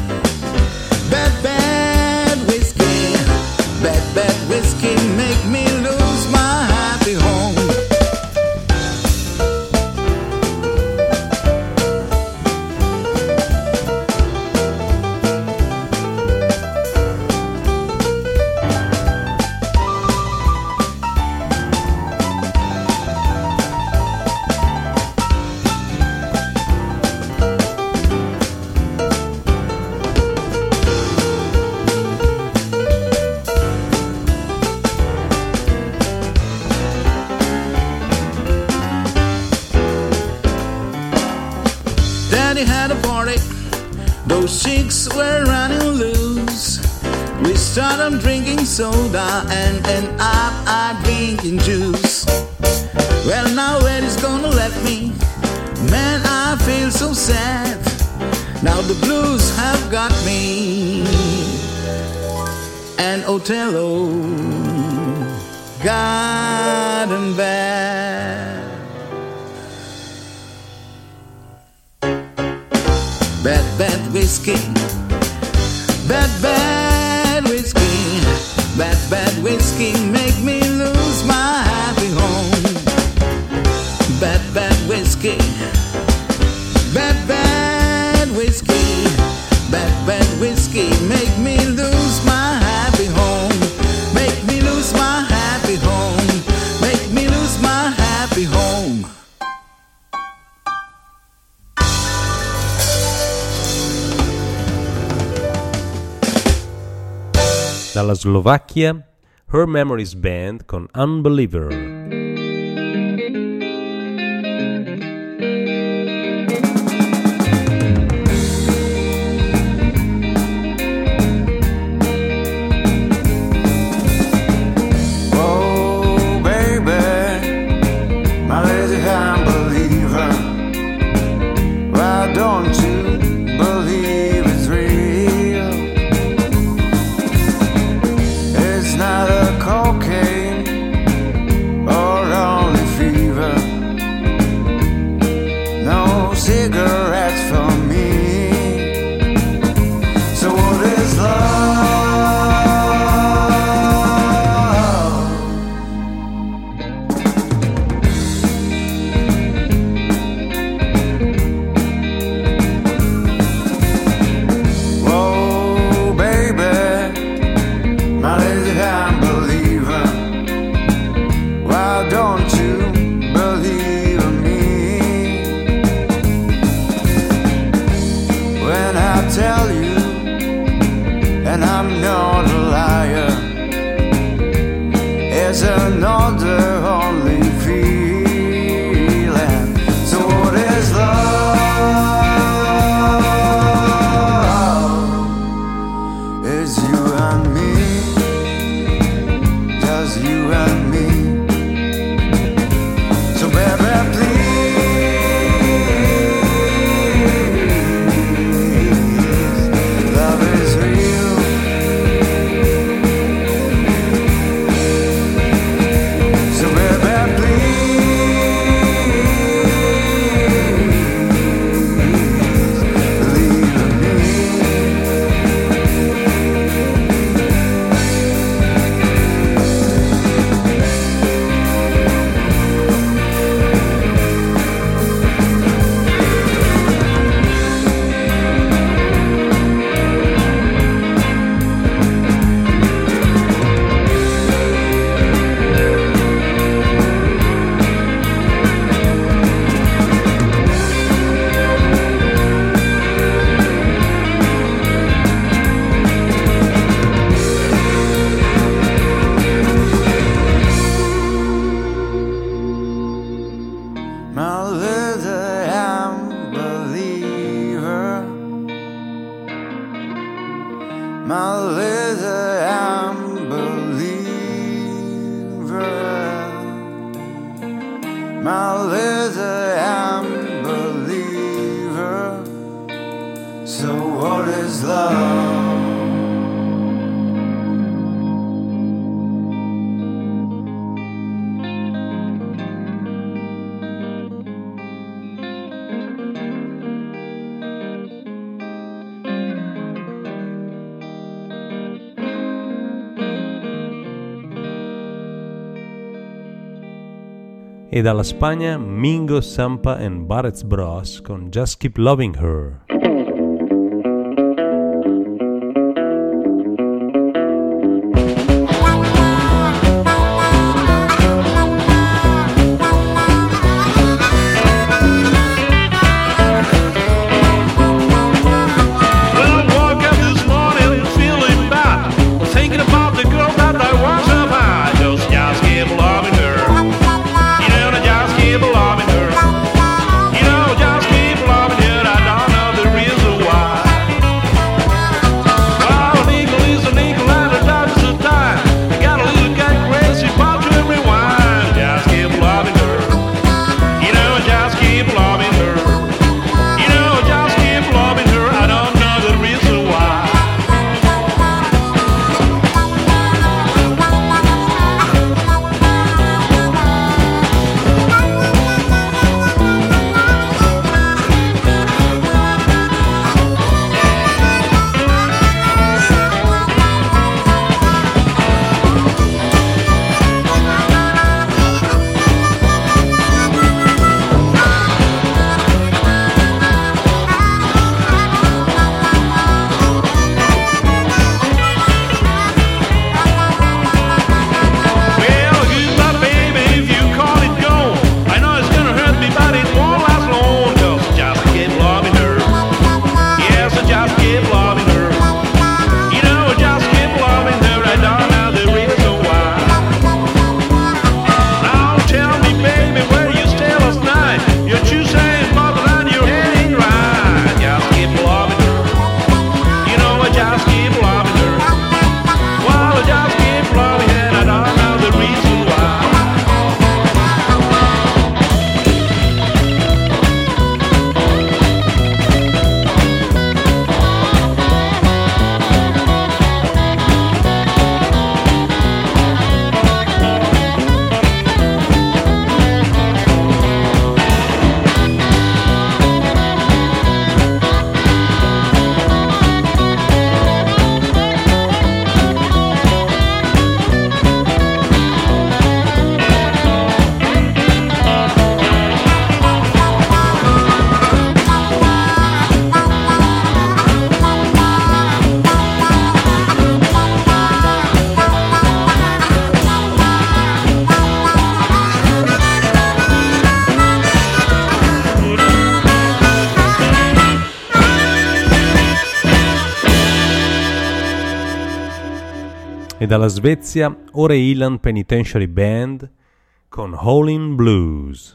bad, bad whiskey, bad, bad whiskey make me lose my happy home. Daddy had a party, those chicks were running loose. We started drinking soda and end up drinking juice. Well, now where is gonna let me? Man, I feel so sad. Now the blues have got me. And Othello gotten bad. Bad, bad whiskey. Bad, bad whiskey. Bad, bad whiskey make me lose my happy home. Bad, bad whiskey. Bad, bad whiskey. Bad, bad whiskey make me lose my happy home. Make me lose my happy home. Make me lose my happy home. Dalla Slovacchia, Her Memories Band con Unbeliever. E dalla Spagna, Mingo Sampa and Barrett's Bros con Just Keep Loving Her. Just keep loving her. You know, just keep loving her. I don't know the reason. dalla Svezia, Ore Island Penitentiary Band con Howlin' Blues.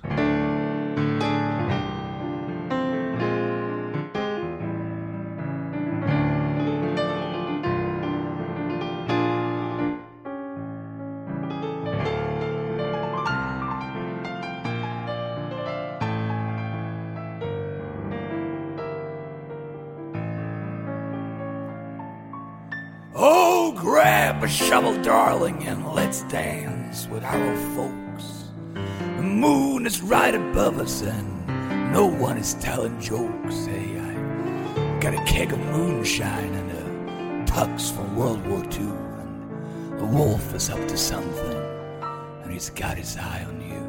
Oh, grab a shovel, darling, and let's dance with our old folks. The moon is right above us, and no one is telling jokes. Hey, I got a keg of moonshine and a tux from World War II, and the wolf is up to something, and he's got his eye on you.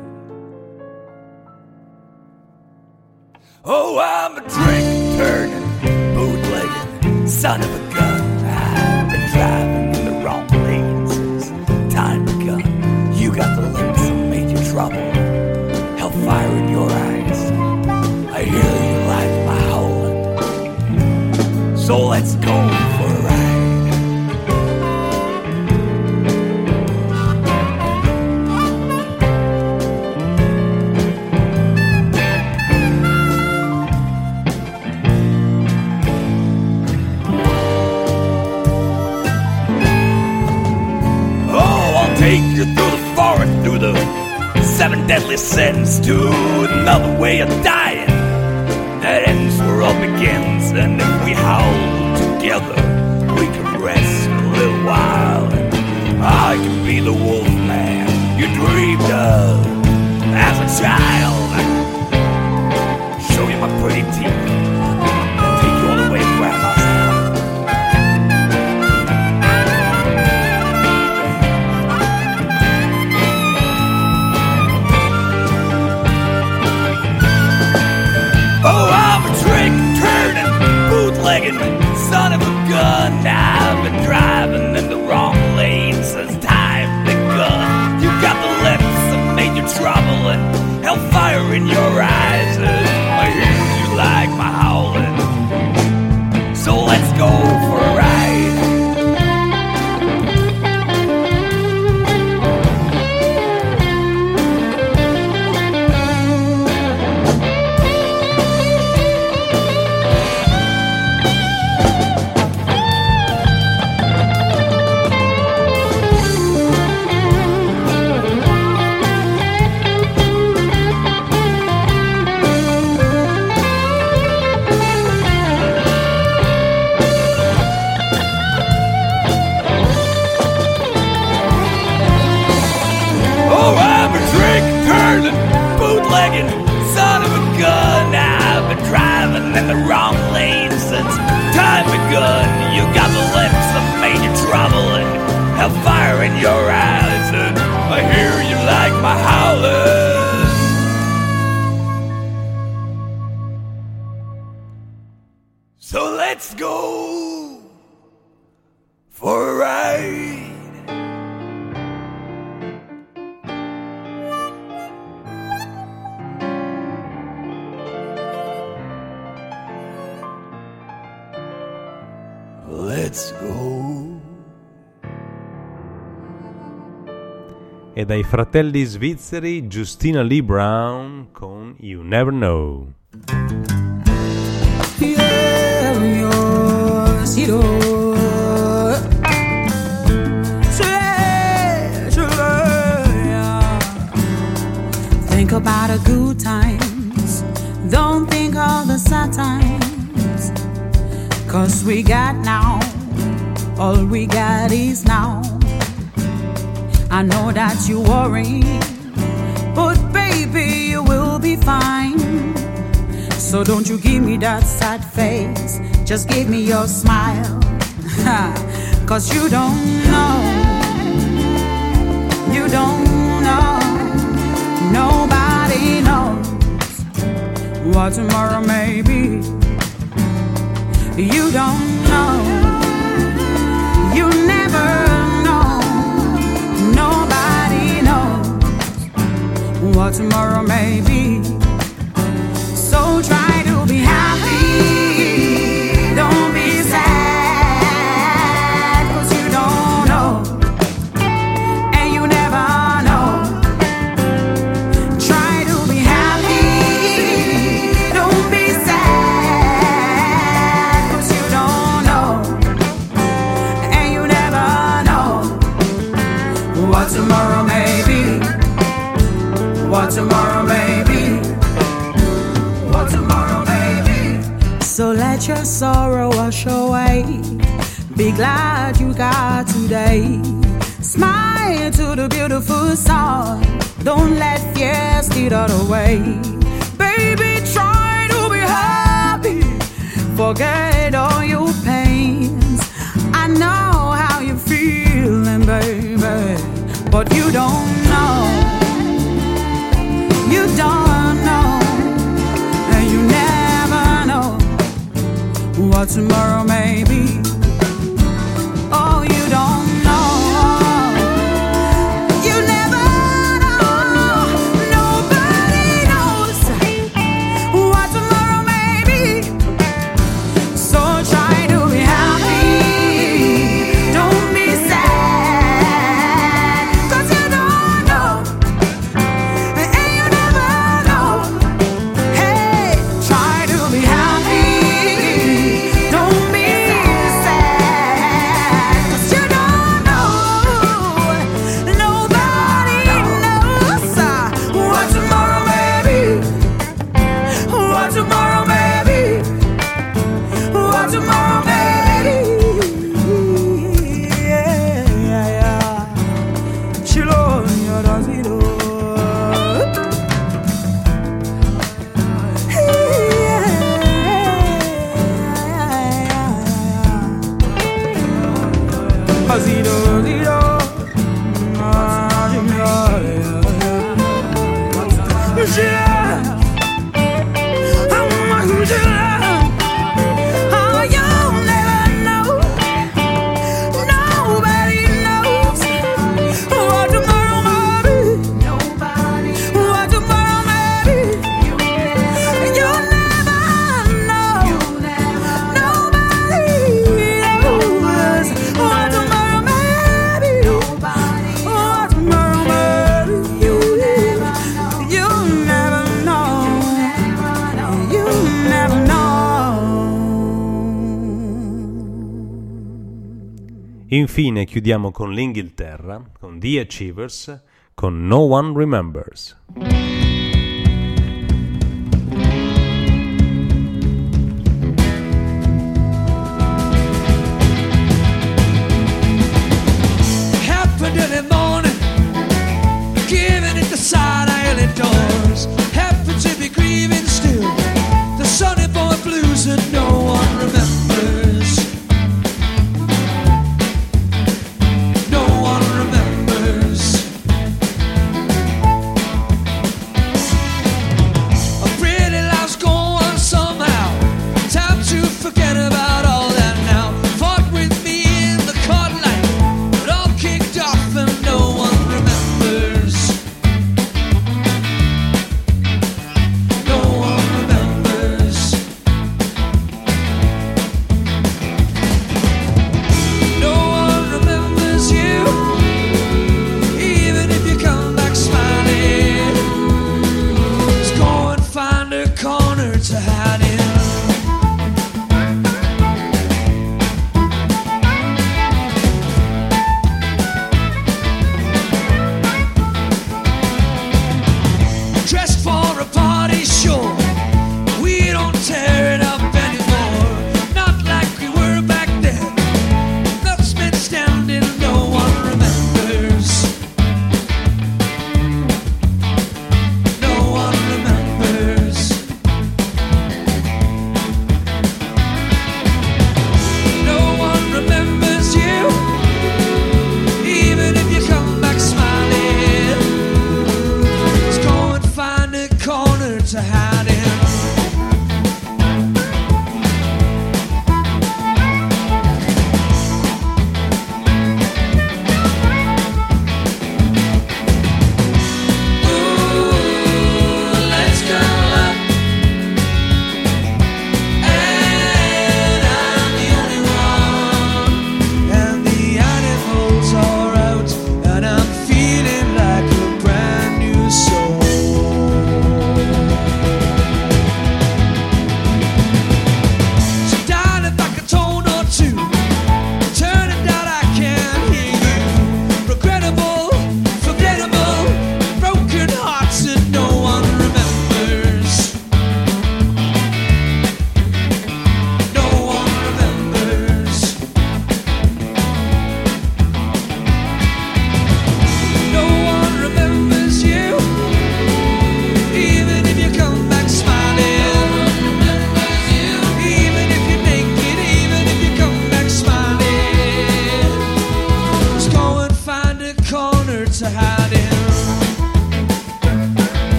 Oh, I'm a drink turning, bootlegging son of a gun. I've been driving in the wrong lane since time begun. You got the lips that made you trouble, hellfire in your eyes. I hear you like my howling, so let's go for a ride. Take you through the forest, through the 7 deadly sins, to another way of dying that ends where all begins. And if we howl together, we can rest a little while. And I can be the wolf man you dreamed of as a child. Show you my pretty teeth and take you all the way to grandma's house. Oh, I'm a trick-turning, bootlegging son of a gun. I've been driving in the wrong lane since time begun. You got the lips that made you trouble and hellfire in your eyes. And I hear you like my howling, so let's go for a ride. Bootlegging son of a gun. I've been driving in the wrong lane since time begun. You got the lips that made you trouble and hellfire in your eyes. And I hear you like my howling, so let's go for a ride. Let's go. E dai fratelli svizzeri Justina Lee Brown con You Never Know. Think about the good times, don't think of the sad times. 'Cause we got now, all we got is now. I know that you worry, but baby, you will be fine. So don't you give me that sad face, just give me your smile. 'Cause you don't know, you don't know, nobody knows what tomorrow may be. You don't know, you never know, nobody knows what tomorrow may be. So try to be happy, don't be sad, 'cause you don't know what tomorrow may be, what tomorrow may be. So let your sorrow wash away. Be glad you got today. Smile to the beautiful sun. Don't let fear steal that away. Baby, try to be happy. Forget all your pains. I know how you're feeling, baby, but you don't know. You don't know, and you never know what tomorrow may be. Oh, you don't know. You never know. Nobody knows what tomorrow may be. So try to be happy. Don't be sad, 'cause you don't know, and you never know. Hey, try to be happy. Don't be sad, 'cause you don't know. Nobody knows what tomorrow may be. What tomorrow may be. What tomorrow may be. Yeah, yeah, yeah. Chilo, you don't see no. Zero, zero. Oh, you'll never know. Nobody knows what tomorrow may be. What tomorrow may be. You'll never know. Nobody knows what tomorrow may be. What tomorrow may be. You'll never know. You'll never know. Infine chiudiamo con l'Inghilterra, con The Achievers, con No One Remembers. Happened in the morning, giving it the side alley door.